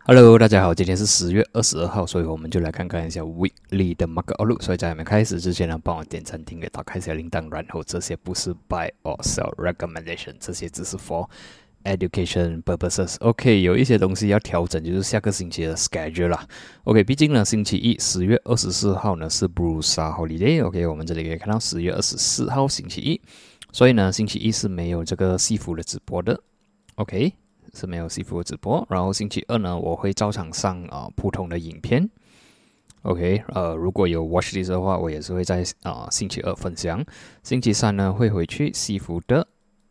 Hello，大家好，今天是10月22号，所以我们就来看看一下 Weekly 的 Market Outlook。所以在还没开始之前呢，帮我点赞、订阅、打开小铃铛，然后这些不是 Buy or Sell Recommendation，这些只是 for education purposes。OK， 有一些东西要调整，就是下个星期的 schedule 啦。OK， 毕竟呢，星期一10月24号呢是 Bursa Holiday。OK， 我们这里可以看到10月24号星期一，所以呢，星期一是没有这个戏服的直播的。OK。是没有戏服直播，然后星期二呢，我会照常上普通的影片。OK， 如果有 watch list 的话，我也是会在星期二分享。星期三呢，会回去戏服的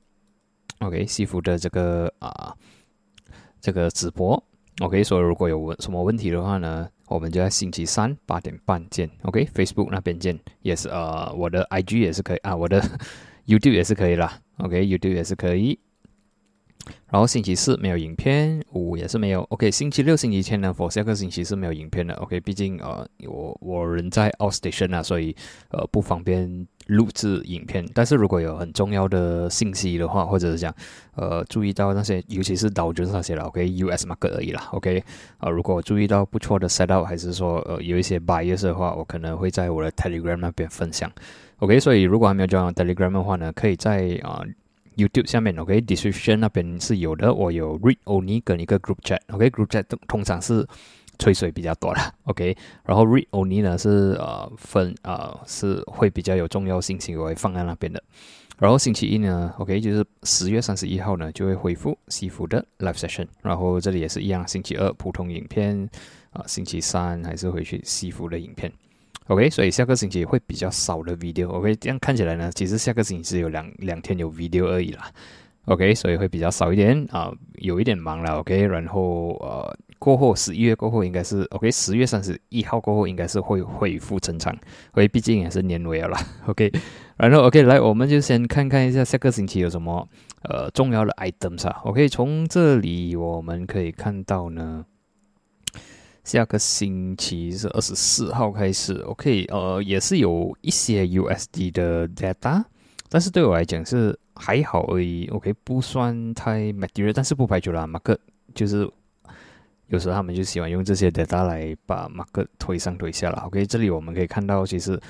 OK 戏服的这个直播。OK， 所以如果有什么问题的话呢，我们就在星期三8点半见。OK，Facebook 那边见，也是我的 IG 也是可以我的YouTube 也是可以啦。OK，YouTube 也是可以。然后星期四没有影片，5也是没有。OK， 星期六、星期天呢 ，for 下个星期是没有影片的。OK， 毕竟我人在 outstation 啊，所以不方便录制影片。但是如果有很重要的信息的话，或者是讲注意到那些，尤其是Dow Jones那些啦 ，OK，US market 而已啦 ，OK，如果我注意到不错的 setup， 还是说有一些 bias 的话，我可能会在我的 Telegram 那边分享。OK， 所以如果还没有 join Telegram 的话呢，可以在YouTube 下面 description 那边是有的，我有 read only 跟一个 group chat。group chat 通常是吹水比较多啦。然后 read only 呢是是会比较有重要信息，我会放在那边的。然后星期一呢就是10月31号呢就会恢复西服的 live session， 然后这里也是一样，星期二普通影片星期三还是回去西服的影片。OK， 所以下个星期会比较少的 video。OK， 这样看起来呢，其实下个星期只有两天有 video 而已啦。OK， 所以会比较少一点有一点忙了。OK， 然后过后11月过后应该是 OK，10月31号过后应该是会恢复正常，因为毕竟也是年尾了啦。OK， 然后 OK 来，我们就先看看一下下个星期有什么重要的 items 啊。OK， 从这里我们可以看到呢。下个星期是24号开始 ，OK， 也是有一些 USD 的 data， 但是对我来讲是还好而已 ，OK， 不算太 material， 但是不排除啦 ，market 就是有时候他们就喜欢用这些 data 来把 market 推上推下啦 ，OK， 这里我们可以看到其实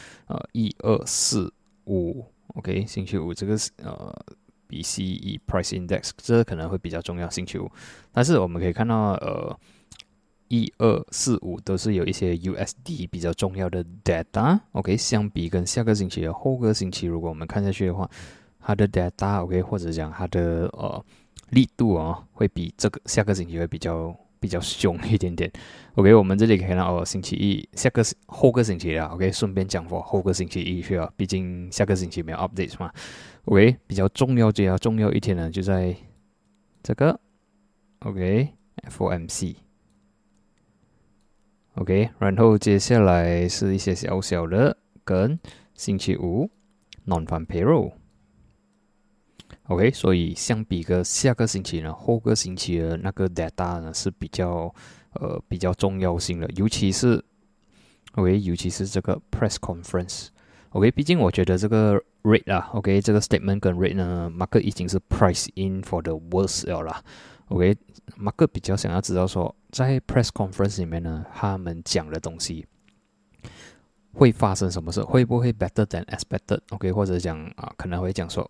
1、2、4、5 ，OK， 星期五这个BCE Price Index 这可能会比较重要，星期五，但是我们可以看到1、2、4、5都是有一些 USD 比较重要的 data。OK， 相比跟下个星期的后个星期，如果我们看下去的话，它的 data OK 或者讲它的力度会比这个下个星期会比较凶一点点。OK， 我们这里可以看到星期一后个星期啦 OK， 顺便讲后个星期一去毕竟下个星期没有 updates 嘛。OK， 比较重要一天呢就在这个 OK FOMC。OK， 然后接下来是一些小小的跟星期五 Non-Farm Payroll。OK， 所以相比个下个星期呢，后个星期的那个 data 呢是比较重要性的，尤其是这个 press conference。OK， 毕竟我觉得这个 rate 啊 ，OK， 这个 statement 跟 rate 呢 ，market 已经是 price in for the worst 了啦。OK，market 比较想要知道说，在 press conference 里面呢，他们讲的东西会发生什么事，会不会 better than expected？OK， 或者讲可能会讲说，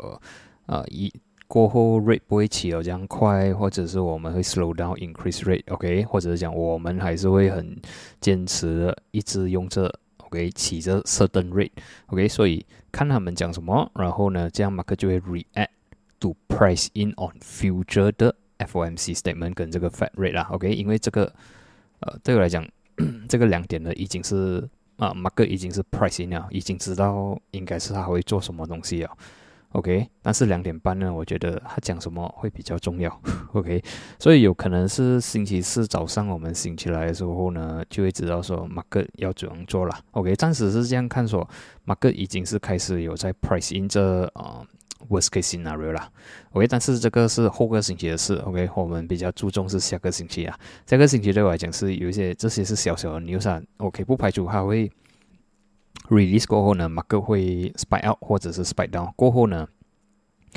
过后 rate 不会起得这样快，或者是我们会 slow down increase rate，OK， 或者是讲我们还是会很坚持的一直用这 OK 起着 certain rate，OK， 所以看他们讲什么，然后呢，这样 market 就会 react to price in on future 的FOMC statement 跟这个 Fed rate 啦 ，OK， 因为这个对我来讲，这个2点呢已经是market 已经是 price in 了，已经知道应该是他会做什么东西了 ，OK， 但是2点半呢，我觉得他讲什么会比较重要，OK， 所以有可能是星期四早上我们醒起来的时候呢，就会知道说 market 要怎样做了 ，OK， 暂时是这样看说 market 已经是开始有在 price in 这worst case scenario 啦 ，OK， 但是这个是后个星期的事 ，OK， 我们比较注重是下个星期啊，下个星期对我来讲是有一些这些是小小的 news 啊 ，OK， 不排除它会 release 过后呢 ，market 会 spike out 或者是 spike down 过后呢，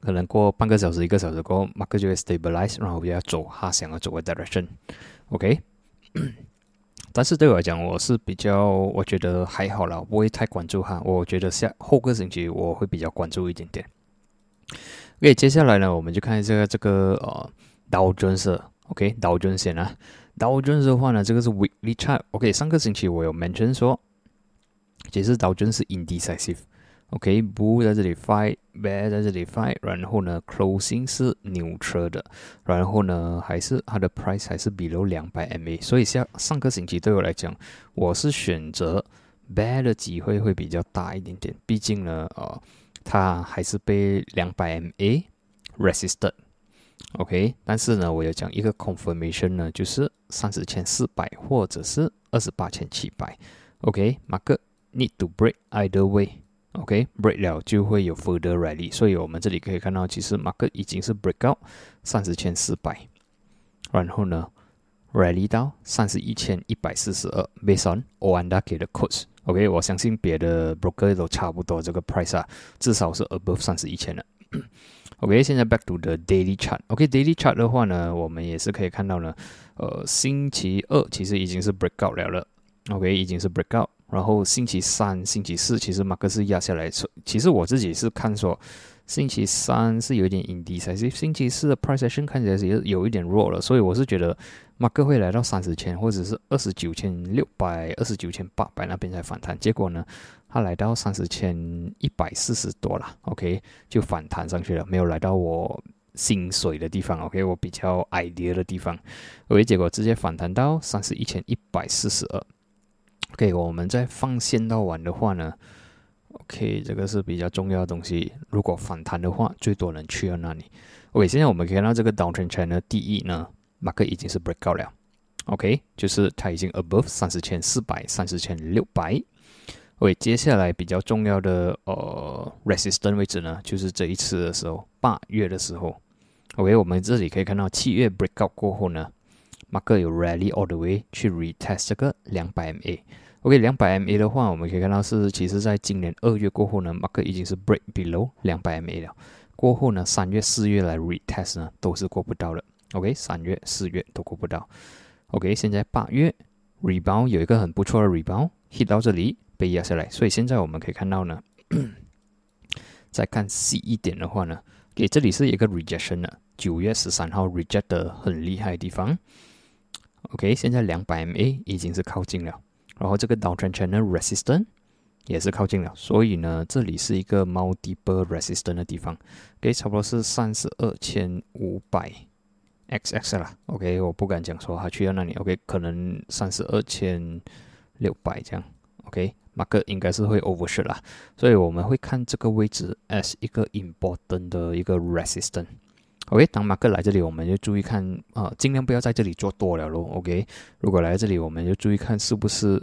可能过半个小时、1个小时过后 ，market 就会 stabilize， 然后要走他想要走的 direction。OK， 但是对我来讲，我觉得还好啦，不会太关注它。我觉得后个星期我会比较关注一点点。OK， 接下来呢，我们就看一下这个Dow Jones。OK， Dow Jones 先啊。Dow Jones 的话呢，这个是 weekly chart。OK， 上个星期我有 mention 说，其实 Dow Jones 是 indecisive。OK，Bull 在这里 fight，Bear 在这里 fight， 然后呢 ，closing 是 neutral 的，然后呢，还是它的 price 还是 below 200 MA， 所以上个星期对我来讲，我是选择 Bear 的机会会比较大一点点，毕竟呢，它还是被200 MA resisted。OK， 但是呢，我有讲一个 confirmation 呢，就是30,400或者是28,700。OK，market need to break either way。OK，break 了就会有 further rally， 所以我们这里可以看到，其实 market 已经是 break out 30,400，然后呢 rally 到31,142 ，based on Oanda 给的 quotes。OK， 我相信别的 broker 都差不多这个 price 啊，至少是 above 31,000了。OK， 现在 back to the daily chart。OK，daily chart 的话呢，我们也是可以看到呢，星期二其实已经是 break out 了。OK， 已经是 break out。然后星期三、星期四，其实马克是压下来。其实我自己是看说，星期三是有一点 indecisive， 星期四的 price action 看起来是有一点弱了，所以我是觉得马克会来到30,000或者是29,600、29,800那边才反弹。结果呢，它来到30,140多了 ，OK， 就反弹上去了，没有来到我心水的地方 ，OK， 我比较 idea 的地方，OK， 结果直接反弹到31,142。OK， 我们再放线到完的话呢 ，OK， 这个是比较重要的东西。如果反弹的话，最多能去到哪里 ？OK， 现在我们可以看到这个 downtrend channel 第一呢 ，market 已经是 break out 了 ，OK， 就是它已经 above 30,400、30,600。OK， 接下来比较重要的resistance 位置呢，就是这一次的时候，8月的时候 ，OK， 我们这里可以看到7月 break out 过后呢 ，market 有 rally all the way 去 retest 这个200 MA。OK， 200 MA 的话，我们可以看到其实在今年2月过后呢 ，market 已经是 break below 200 MA 了。过后呢，3月、4月来 retest 呢，都是过不到的。OK，3月、4月都过不到。OK， 现在8月 rebound 有一个很不错的 rebound hit 到这里被压下来，所以现在我们可以看到呢，再看细一点的话呢，给这里是一个 rejection 的，9月13号 reject 的很厉害的地方。OK， 现在200 MA 已经是靠近了。然后这个 downtrend channel resistance 也是靠近了，所以呢，这里是一个 multiple resistance 的地方，OK， 差不多是32,500 XX 啦 ，OK， 我不敢讲说它去到那里 ，OK， 可能32,600这样 ，OK，market 应该是会 overshoot 啦，所以我们会看这个位置 as 一个 important 的一个 resistance。OK， 当 market 来这里，我们就注意看尽量不要在这里做多了咯。OK， 如果来这里，我们就注意看是不是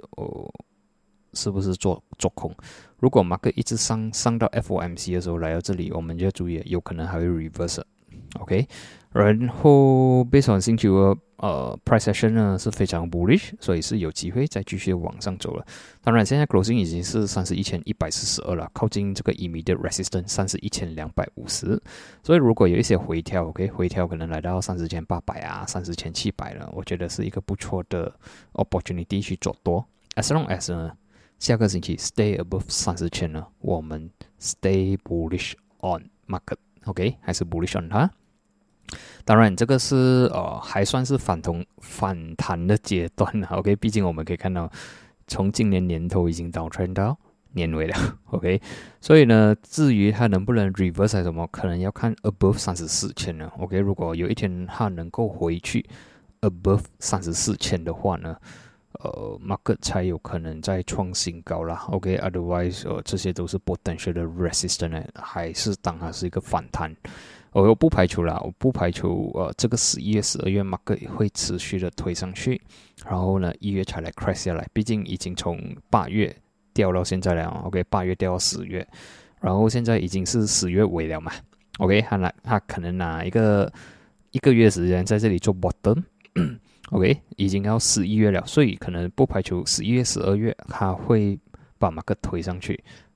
做空。如果 market 一直上到 FOMC 的时候来到这里，我们就要注意，有可能还会 reverse。OK， 然后 based on 星期五price action 呢是非常 bullish， 所以是有机会再继续往上走了。当然，现在 closing 已经是31,142了，靠近这个 immediate resistance 31,250。所以如果有一些回调 ，OK， 回调可能来到30,800啊、30,700了，我觉得是一个不错的 opportunity 去做多。As long as 呢，下个星期 stay above 30,000呢，我们 stay bullish on market，OK， 还是 bullish on 它。当然，这个是还算是反弹的阶段了 ，OK， 毕竟我们可以看到，从今年年头已经downtrend到年尾了 ，OK， 所以呢，至于它能不能 reverse 还是什么，可能要看 above 34,000了 ，OK， 如果有一天它能够回去 above 34,000的话呢，market 才有可能再创新高啦 ，OK，otherwise 这些都是 potential 的 resistance， 还是当它是一个反弹。我不排除这个11月、12月 market 会持续的推上去，然后呢1月才来 crash 下来，毕竟已经从8月掉到现在了 ，OK， 8月掉到10月，然后现在已经是10月尾了嘛 ，OK， 他可能拿一个月时间在这里做 bottom，OK， 已经要11月了，所以可能不排除11月、12月他会把 market 推上去。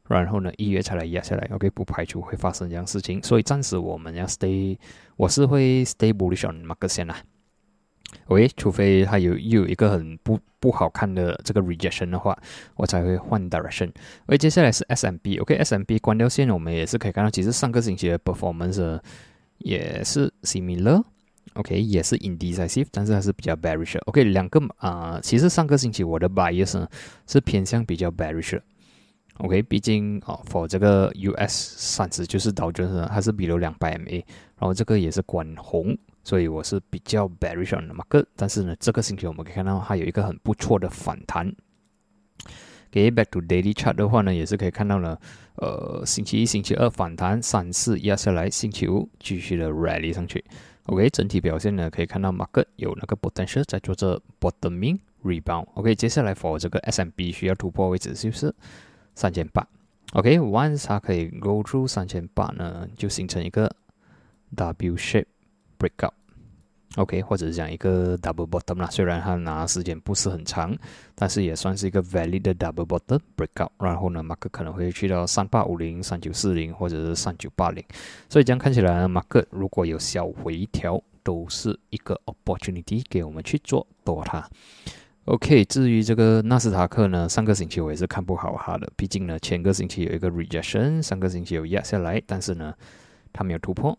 然后呢1月才来压下来 ，OK， 不排除会发生这样事情，所以暂时我们要我是会 stay bullish on market 先啦。OK， 除非它又有一个很不好看的这个 rejection 的话，我才会换 direction。OK， 接下来是 S&P。OK，S&P 关掉线，我们也是可以看到，其实上个星期的 performance 也是 similar。OK， 也是 indecisive， 但是它是比较 bearish。OK， 两个其实上个星期我的 bias 呢是偏向比较 bearish。OK， 毕竟for 这个 US 30就是道琼斯，它是below 200 MA， 然后这个也是关红。所以我是比较 bearish on the market， 但是呢，这个星期我们可以看到它有一个很不错的反弹。给 back to daily chart 的话呢，也是可以看到呢，星期一、星期二反弹，3、4压下来，星期五继续的 rally 上去。OK， 整体表现呢，可以看到 market 有那个 potential 在做这 bottoming rebound。OK， 接下来 for 这个 S&P 需要突破位置就是3800。OK，once 它可以 go through 3800呢，就形成一个 W shape breakout。OK， 或者是讲一个 double bottom 啦，虽然它拿时间不是很长，但是也算是一个 valid 的 double bottom breakout。然后呢 ，market 可能会去到3850、3940或者是3980。所以这样看起来呢 ，market 如果有小回调，都是一个 opportunity 给我们去做多它。OK， 至于这个纳斯达克呢，上个星期我也是看不好它的，毕竟呢前个星期有一个 rejection， 上个星期有压下来，但是呢它没有突破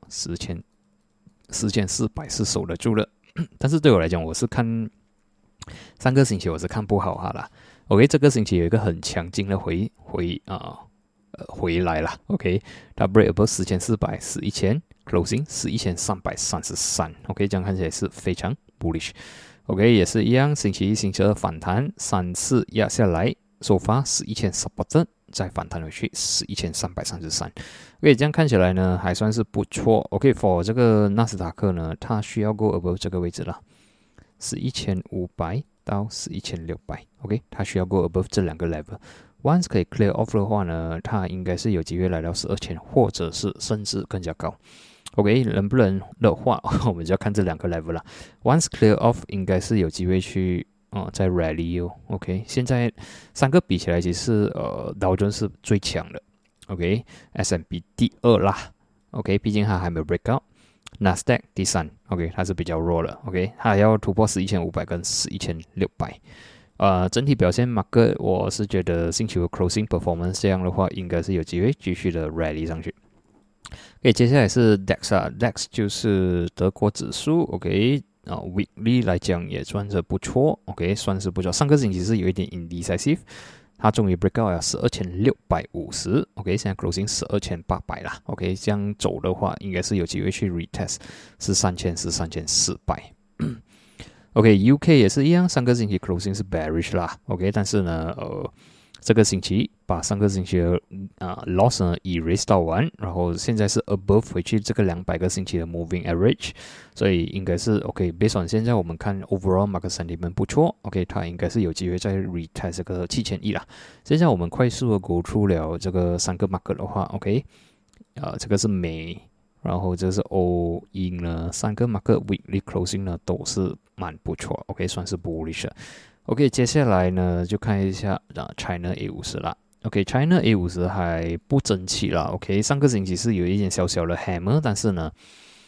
4400是守得住的，但是对我来讲，我是看上个星期我是看不好它啦。OK， 这个星期有一个很强劲的回来啦。OK， 它 break above 4400是1000 closing 是1333。OK， 这样看起来是非常 bullish。OK， 也是一样，星期一、星期二反弹，3、4压下来，收发11,000 support。再反弹回去1333。OK， 这样看起来呢还算是不错。OK，for 这个纳斯达克呢，它需要 go above 这个位置了，1500到1600。OK， 它需要 go above 这两个 level。Once 可以 clear off 的话呢，它应该是有机会来到12000，或者是甚至更加高。OK， 能不能的话，我们就要看这两个 level 了。Once clear off， 应该是有机会去。在 rally 哦 ，OK， 现在三个比起来，其实道琼是最强的 ，OK，S&P 第二啦 ，OK， 毕竟它还没有 break out，N A S D A Q 第三 ，OK， 它是比较弱了 ，OK， 它要突破11500跟11600，整体表现 market 我是觉得星期五 closing performance 这样的话，应该是有机会继续的 rally 上去。OK， 接下来是 DAX 就是德国指数 ，OK。weekly 来讲也算是不错 ，OK， 算是不错。上个星期是有一点 indecisive， 它终于 break out 了12650 ，OK， 现在 closing 12800啦 ，OK， 这样走的话，应该是有机会去 retest 3000、3400。OK，UK 也是一样，上个星期 closing 是 bearish 啦 ，OK， 但是呢，这个星期把上个星期的loss 呢 erase 到完，然后现在是 above 回去这个200个星期的 moving average， 所以应该是 OK。based on 现在我们看 overall market sentiment 不错 ，OK， 它应该是有机会再 retest 这个7000亿啦。现在我们快速的 go through 了这个三个 market 的话 ，OK， 这个是美，然后这是欧英呢，三个 market weekly closing 呢都是蛮不错 ，OK， 算是 bullish。OK， 接下来呢就看一下China A50 啦。OK，China A50 还不争气啦。OK， 上个星期是有一点小小的 hammer， 但是呢，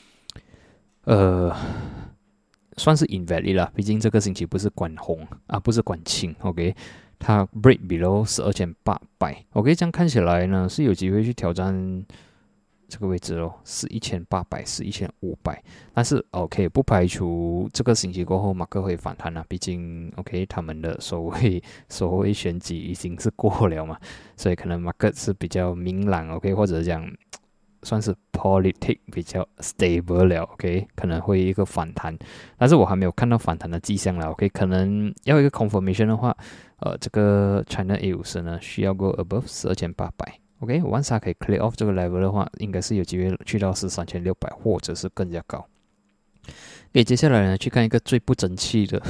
算是 invalid 啦。毕竟这个星期不是关红啊，不是关青。OK， 它 break below 12800。OK， 这样看起来呢是有机会去挑战这个位置咯，11800、11500，但是 OK 不排除这个星期过后马克会反弹啦，毕竟 OK 他们的所谓选举已经是过了嘛，所以可能马克是比较明朗 OK， 或者讲算是 politic 比较 stable 了 OK， 可能会一个反弹，但是我还没有看到反弹的迹象了 OK， 可能要一个 confirmation 的话，这个 China A50 呢需要 go above 12800。OK，once 它可以 clear off 这个 level 的话，应该是有机会去到3600或者是更加高。OK， 接下来呢，去看一个最不争气的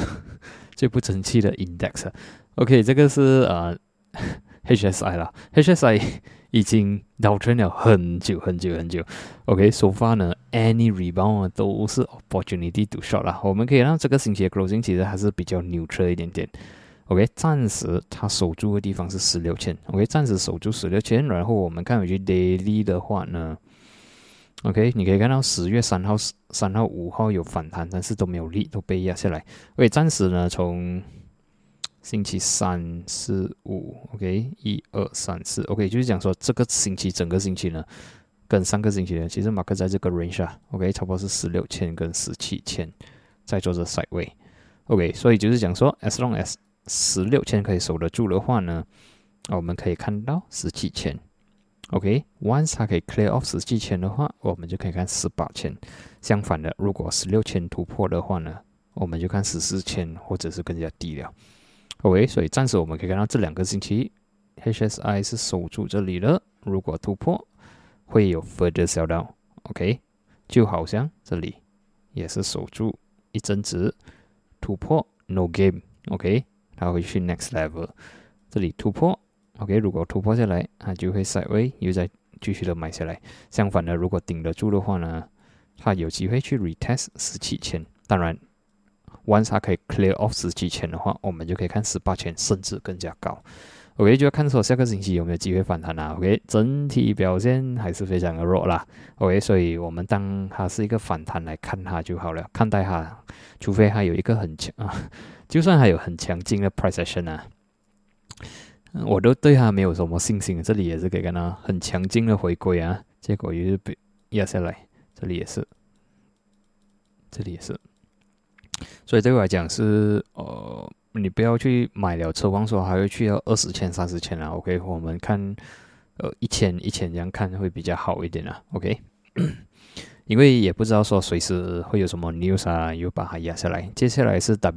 index。OK， 这个是HSI 啦 ，HSI 已经倒tren了很久。OK，so far 呢 ，any rebound 都是 opportunity to short 啦。我们可以让这个星期的 closing 其实还是比较 neutral 一点点。 OK， 暂时它守住的地方是16000 ，OK， 暂时守住16000，然后我们看回去 daily 的话呢 ，OK， 你可以看到10月3号、5号有反弹，但是都没有力，都被压下来。OK， 暂时呢从星期3、4、5 ，OK， 1、2、3、4 ，OK， 就是讲说这个星期整个星期呢，跟上个星期呢，其实马克在这个 range 啊 ，OK， 差不多是16000跟17000在做着 sideway。OK， 所以就是讲说 ，as long as 16000可以守得住的话呢，我们可以看到17000。OK，once 它可以 clear off 17000的话，我们就可以看18000。相反的，如果16000突破的话呢，我们就看14000或者是更加低了。OK， 所以暂时我们可以看到这2个星期 ，HSI 是守住这里了。如果突破，会有 further sell down。OK， 就好像这里也是守住一阵子，突破 no game。OK。它会去 next level， 这里突破 ，OK， 如果突破下来，它就会 sideway 又再继续的买下来。相反的，如果顶得住的话呢，它有机会去 retest 17000。当然 ，once 它可以 clear off 17000的话，我们就可以看18000，甚至更加高。OK， 就要看说下个星期有没有机会反弹啦。OK， 整体表现还是非常的弱啦。OK， 所以我们当它是一个反弹来看它就好了，看待它，除非它有一个很强啊。就算还有很强劲的 price action 啊，我都对它没有什么信心。这里也是可以看到很强劲的回归啊，结果又是被压下来，这里也是，所以对我来讲是你不要去买了奢望说还会去到20000、30000啊。OK， 我们看1000这样看会比较好一点啊。OK。因为也不知道说随时会有什么 news 啊，又把它压下来。接下来是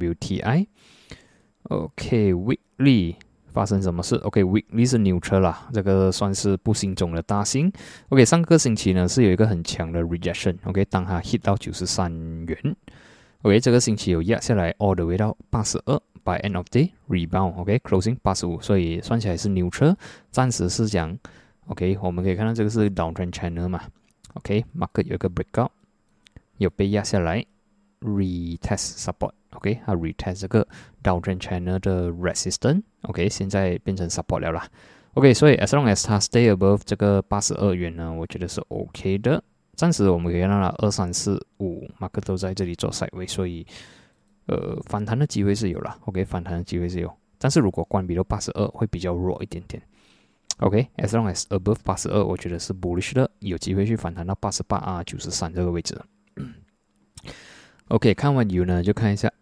WTI。OK，weekly 发生什么事 ？OK，weekly 是 neutral 啦，这个算是不幸中的大幸。OK， 上个星期呢是有一个很强的 rejection。OK， 当它 hit 到93元。OK， 这个星期有压下来 all the way 到82，by end of day rebound。OK，closing 85，所以算起来是 neutral。暂时是讲 OK， 我们可以看到这个是 downtrend channel 嘛。OK，market 有一个 breakout， 有被压下来 ，retest support。OK， 它 retest 这个 downtrend channel 的 resistance。OK， 现在变成 support 了啦。OK， 所以 as long as 它 stay above 这个82元呢，我觉得是 OK 的。暂时我们可以看到了2、3、4、5 market 都在这里做 sideway， 所以反弹的机会是有了。OK， 反弹的机会是有，但是如果关闭到82会比较弱一点点。OK，as long as above 82，我觉得是 bullish 的，有机会去反弹到88啊、93这个位置。OK， 看完 U 呢，就看一下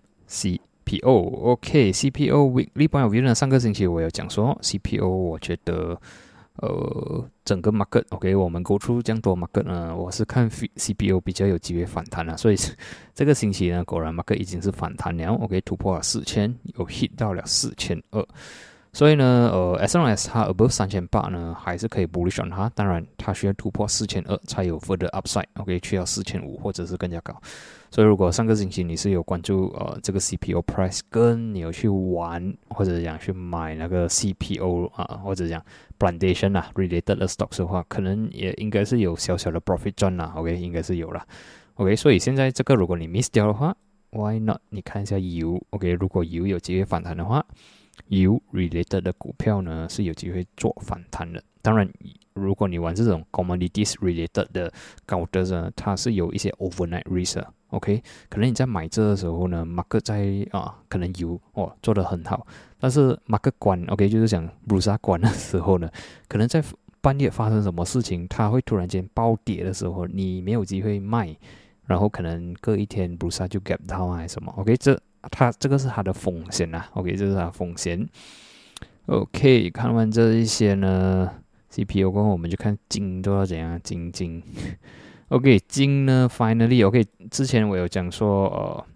FCPO。OK，CPO weekly point of view 呢，上个星期我有讲说 CPO， 我觉得整个 market OK， 我们 go through 这样多 market 呢，我是看 CPO 比较有机会反弹了，所以这个星期呢，果然 market 已经是反弹了 ，OK， 突破了4000，有 hit 到了4200。所以呢，as long as 它 above 3800呢，还是可以 bullish on 它。当然，它需要突破4200才有 further upside。OK， 去到4500或者是更加高。所以，如果上个星期你是有关注这个 CPO price， 跟你有去玩或者讲去买那个 CPO 或者讲 plantation related 的 stocks 的话，可能也应该是有小小的 profit 赚啦。OK， 应该是有啦。OK， 所以现在这个如果你 miss 掉的话 ，why not？ 你看一下 U。OK， 如果 U 有机会反弹的话。U related 的股票呢是有机会做反弹的。当然，如果你玩这种 commodities related 的高的呢，它是有一些 overnight risk。OK， 可能你在买这的时候呢 ，market 在可能U 做得很好，但是 market 关 OK 就是讲 Bursa 关的时候呢，可能在半夜发生什么事情，它会突然间暴跌的时候，你没有机会卖，然后可能隔一天 Bursa 就 gap down 还是什么 ，OK 这个是它的风险啦 ，OK， 这是它的风险。OK， 看完这一些呢 ，CPO 过后我们就看金都要怎样，金。OK， 金呢 ，finally OK， 之前我有讲说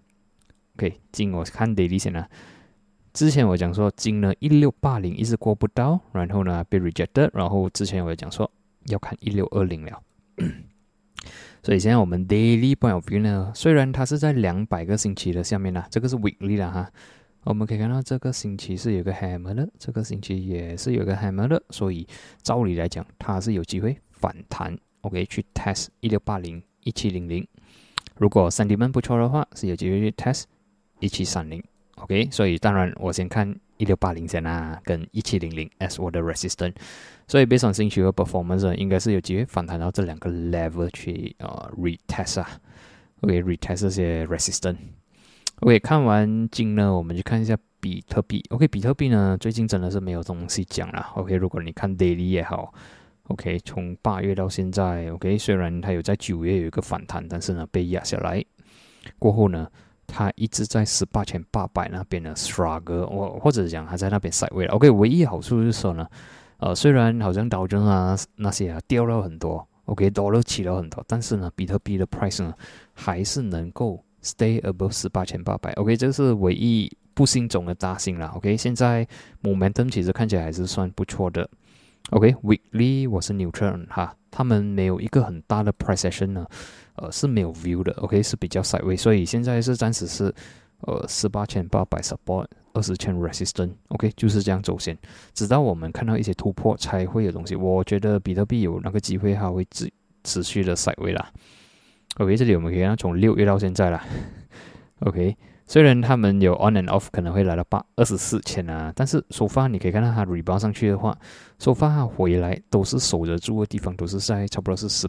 OK， 金我看 daily 先啦。之前我讲说金呢1680一直过不到，然后呢被 rejected， 然后之前我有讲说要看1620了。所以现在我们 daily point of view 呢，虽然它是在200个星期的下面啦，这个是 weekly 啦哈，我们可以看到这个星期是有个 hammer 的，这个星期也是有个 hammer 的，所以照理来讲它是有机会反弹 ，OK 去 test 1680、1700，如果 sentiment 不错的话，是有机会去 test 1730 OK， 所以当然我先看1680先啊，跟1700 as 我的 resistance， 所以 based on 兴趣和 performance 应该是有机会反弹到这两个 level 去retest 啊 ，OK retest 这些 resistance。OK， 看完金呢，我们就看一下比特币。OK， 比特币呢最近真的是没有东西讲了。OK， 如果你看 daily 也好 ，OK， 从8月到现在 ，OK， 虽然它有在9月有一个反弹，但是呢被压下来过后呢。它一直在18800那边的 struggle， 或者讲它在那边 sideways 了。OK， 唯一好处就是说呢，虽然好像道琼啊那些掉了很多 ，OK，dollar 起了很多，但是呢，比特币的 price 呢还是能够 stay above 18800。OK， 这是唯一不幸中的大幸啦。OK， 现在 momentum 其实看起来还是算不错的。OK，weekly 我是 neutral 哈，他们没有一个很大的 price action 呢。是没有 view 的 ，OK 是比较 sideways， 所以现在是暂时是18800 support， 20000 resistance，OK 就是这样走线，直到我们看到一些突破才会有东西。我觉得比特币有那个机会，它会持续的 sideways 啦。OK， 这里我们可以看到从6月到现在啦 ，OK 虽然他们有 on and off 可能会来到24000啊，但是so far你可以看到它 rebound 上去的话，so far 它回来都是守得住的地方，都是在差不多是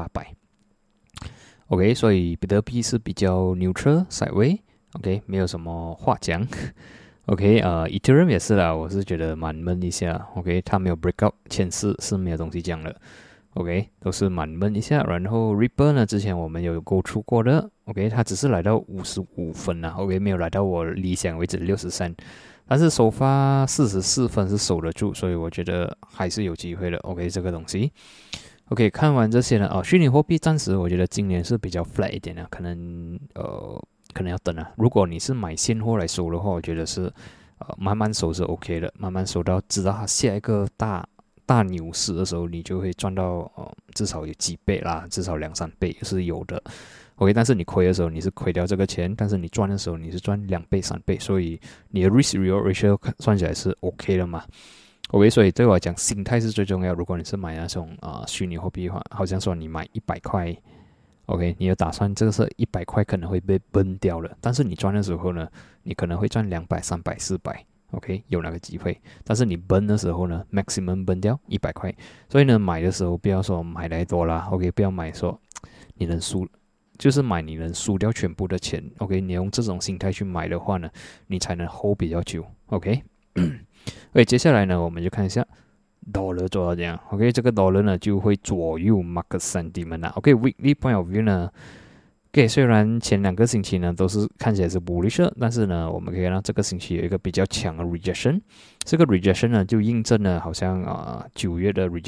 18800。OK， 所以比特币是比较 neutral sideways，OK， 没有什么话讲。OK，Ethereum 也是啦，我是觉得蛮闷一下。OK， 它没有 breakout 前世是没有东西讲的。OK， 都是蛮闷一下。然后 Ripple 呢，之前我们有go through过的。OK， 它只是来到55分啦。OK， 没有来到我理想位置63，但是首发44分是守得住，所以我觉得还是有机会的。OK， 这个东西。OK， 看完这些呢，虚拟货币暂时我觉得今年是比较 flat 一点的，可能要等啊。如果你是买现货来收的话，我觉得是慢慢收是 OK 的，慢慢收到直到它下一个大牛市的时候，你就会赚到至少有几倍啦，至少2-3倍是有的。OK， 但是你亏的时候你是亏掉这个钱，但是你赚的时候你是赚2倍3倍，所以你的 risk reward ratio 算起来是 OK 的嘛。OK， 所以对我来讲，心态是最重要。如果你是买那种虚拟货币的话，好像说你买100块 ，OK， 你有打算这个是100块可能会被崩掉了，但是你赚的时候呢，你可能会赚200、300、400，OK， 有那个机会。但是你崩的时候呢 ，maximum 崩掉100块。所以呢，买的时候不要说买来多啦 ，OK， 不要买说你能输，就是买你能输掉全部的钱 ，OK， 你用这种心态去买的话呢，你才能 hold 比较久 ，OK。OK， 接下来呢，我们就看一下 dollar 做到这样。OK， 这个 dollar 呢就会左右 market sentiment 啦。OK，weekly point of view 呢 ，OK， 虽然前2个星期呢都是看起来是 bullish， 但是呢，我们可以看到这个星期有一个比较强的 rejection。这个 rejection 呢就印证了好像9月的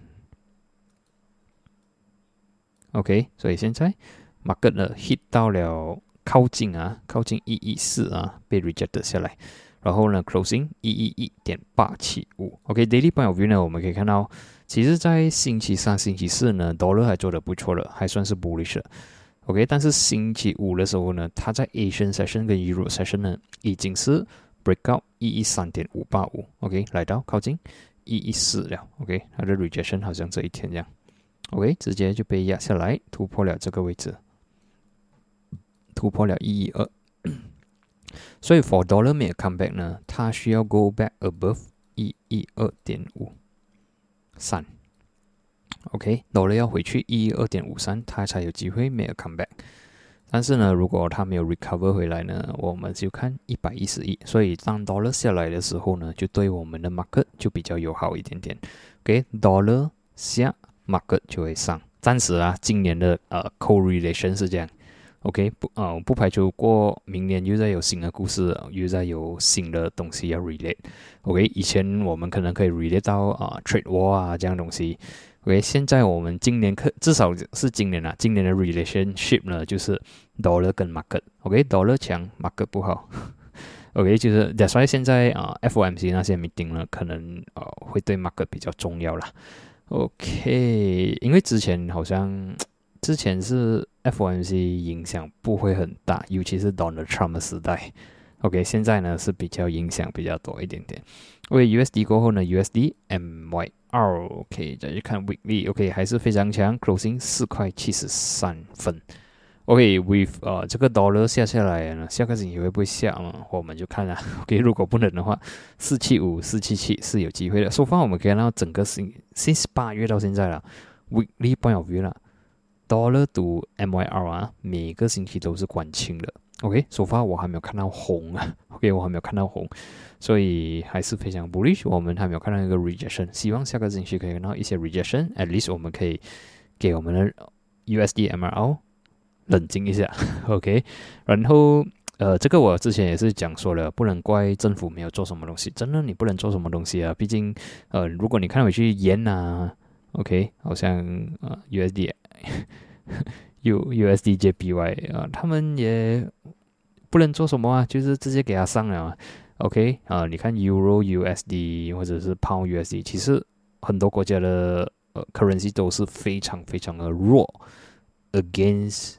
rejection。OK， 所以现在 market 呢 hit 到了靠近114啊，被 reject 下来。然后呢 ，closing 111.875。OK，daily point of view 呢，我们可以看到，其实在星期3、星期4呢 ，dollar 还做得不错的，还算是 bullish 的。OK， 但是星期5的时候呢，它在 Asian session 跟 Euro session 呢，已经是 breakout 113.585。OK， 来到靠近114了。OK， 它的 rejection 好像这一天这样。OK， 直接就被压下来，突破了这个位置，突破了112。所以 for dollar 没有 comeback 呢，它需要 go back above 112.53。OK，dollar 要回去112.53，它才有机会没有 comeback。但是呢，如果它没有 recover 回来呢，我们就看111。所以当 dollar 下来的时候呢，就对我们的 market 就比较友好一点点。OK，dollar 下 market 就会上。暂时啊，今年的correlation 是这样。OK， 不排除过明年又再有新的故事，又再有新的东西要 relate。OK， 以前我们可能可以 relate 到trade war 啊这样东西。OK， 现在我们今年至少是今年今年的 relationship 呢就是 dollar 跟 market。OK，dollar 强 market 不好。OK， 就是 that's why 现在FOMC 那些 meeting 呢可能会对 market 比较重要啦。OK， 因为之前是 FOMC 影响不会很大，尤其是 Donald Trump 的时代。OK， 现在呢是比较影响比较多一点点。OK，USD 过后呢 ，USD MYR。OK， 再去看 Weekly。OK， 还是非常强 ，Closing 4.73块。 OK，with 这个 dollar 下来呢，下个星期会不会下呢？我们就看了。OK，如果不能的话，475、477是有机会的。So far 我们可以看到整个since 8月到现在了 ，weekly point of view 啦 ，dollar to MYR 啊，每个星期都是关清的。OK，so far 我还没有看到红啊。OK， 我还没有看到红，所以还是非常 bullish。我们还没有看到一个 rejection， 希望下个星期可以看到一些 rejection。At least 我们可以给我们的 USD MRL 冷静一下，OK。然后这个我之前也是讲说了，不能怪政府没有做什么东西，真的你不能做什么东西啊。毕竟如果你看回去yen啊 ，OK， 好像USD USD JPY 他们也不能做什么啊，就是直接给它上了，OK 你看 Euro USD 或者是 Pound USD， 其实很多国家的currency 都是非常非常的弱 against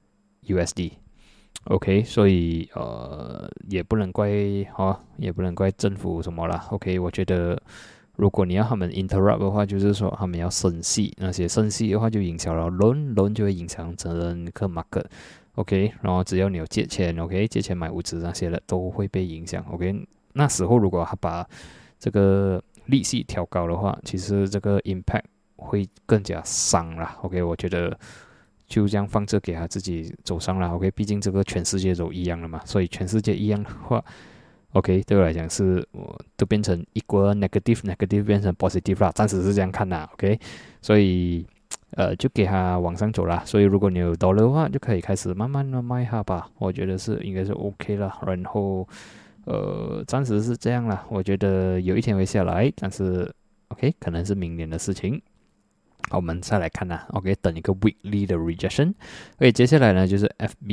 USD。OK， 所以也不能怪也不能怪政府什么啦。OK， 我觉得如果你要他们 interrupt 的话，就是说他们要升息，那些升息的话就影响了 loan 就会影响整个 market。OK， 然后只要你有借钱 ，OK， 借钱买屋子那些的都会被影响。OK， 那时候如果他把这个利息调高的话，其实这个 impact 会更加伤啦。OK， 我觉得就这样放着给他自己走上了。OK， 毕竟这个全世界都一样了嘛，所以全世界一样的话 ，OK， 对我来讲是都变成equal negative 变成 positive 啦，暂时是这样看啦。OK， 所以就给他往上走啦。所以如果你有 dollar 的话，就可以开始慢慢的卖它吧，我觉得是应该是 OK 了。然后暂时是这样啦，我觉得有一天会下来，但是 OK 可能是明年的事情。好，我们再来看啦 ，OK， 等一个 weekly 的 rejection。OK， 接下来呢就是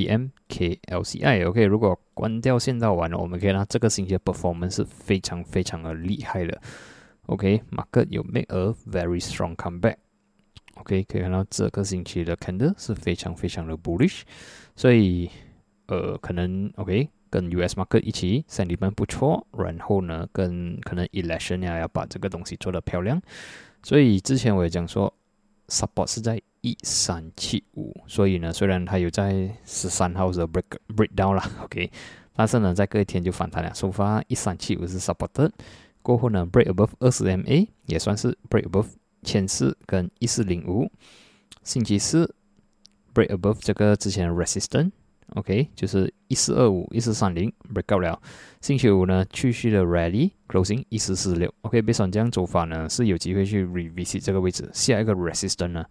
FBM、KLCI。OK， 如果关掉线道完了，我们可以看到这个星期的 performance 是非常非常的厉害的。OK，market 有 make a very strong comeback。OK， 可以看到这个星期的 candle 是非常非常的 bullish， 所以可能 OK 跟 US market 一起 sentiment 不错，然后呢跟可能 election 要把这个东西做得漂亮。所以之前我也讲说 support 是在1375，所以呢虽然它有在13号的 breakdown 啦 OK， 但是呢在隔一天就反弹了。So far 1375是 supported， 过后呢 break above 20MA 也算是 break above 1400跟1405，星期四 break above 这个之前的 resistance。OK， 就是1425、1430 break out 了。星期五呢，继续的 rally closing 1446。OK，based on 这样走法呢，是有机会去 revisit 这个位置。下一个 resistance 呢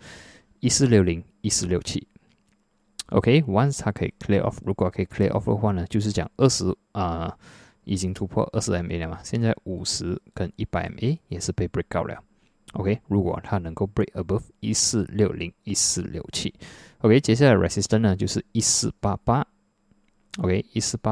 ，1460、1467。OK，once 它可以 clear off， 如果可以 clear off 的话呢，就是讲20已经突破20MA 了嘛，现在50跟100MA 也是被 break out 了。OK， 如果它能够 break above 1460、1467。OK， 接下来 resistance 呢就是1488 ，OK，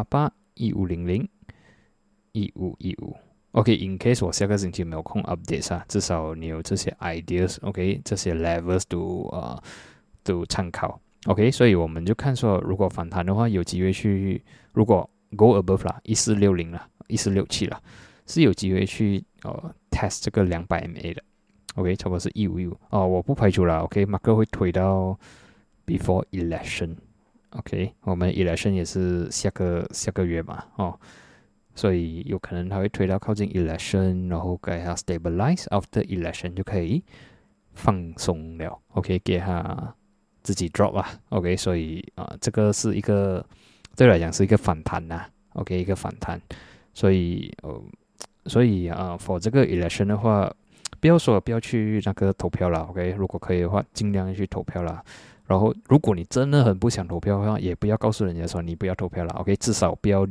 1488、1500、1515。OK，in case 我下个星期没有空 update 啊，至少你有这些 ideas，OK， 这些 levels 都参考。OK， 所以我们就看说，如果反弹的话，有机会去，如果 go above 啦，1460啦，1467啦，是有机会去test 这个200MA 的。OK， 差不多是1515我不排除啦。OK，market 会推到before election。OK， 我们 election 也是下个月嘛，所以有可能它会推到靠近 election， 然后给它 stabilize after election 就可以放松了。OK， 给它自己 drop 啊。OK， 所以这个是一个对我来讲是一个反弹呐。OK， 一个反弹。所以for 这个 election 的话，不要去那个投票啦 ，OK， 如果可以的话，尽量去投票啦。然后，如果你真的很不想投票的话，也不要告诉人家说你不要投票啦 ，OK， 至少不要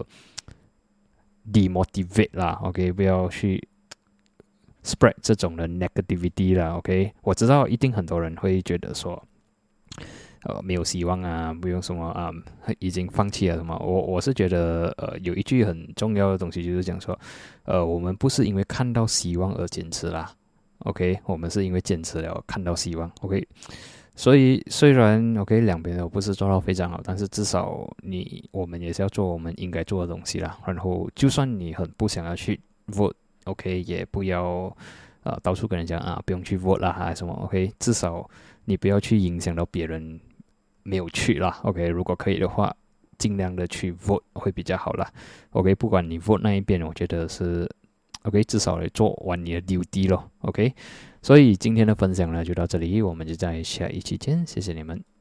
demotivate 啦 ，OK， 不要去 spread 这种的 negativity 啦 ，OK， 我知道一定很多人会觉得说，没有希望啊，不用什么已经放弃了什么。我是觉得有一句很重要的东西就是讲说，我们不是因为看到希望而坚持啦 ，OK， 我们是因为坚持了看到希望 ，OK。所以虽然 OK 两边都不是做到非常好，但是至少我们也是要做我们应该做的东西啦。然后就算你很不想要去 vote，OK， 也不要到处跟人讲不用去 vote 啦还是什么 ，OK， 至少你不要去影响到别人没有去啦。OK， 如果可以的话，尽量的去 vote 会比较好啦。OK， 不管你 vote 那一边，我觉得是 OK， 至少来做完你的 duty 咯。OK， 所以今天的分享呢就到这里，我们就在下一期见，谢谢你们。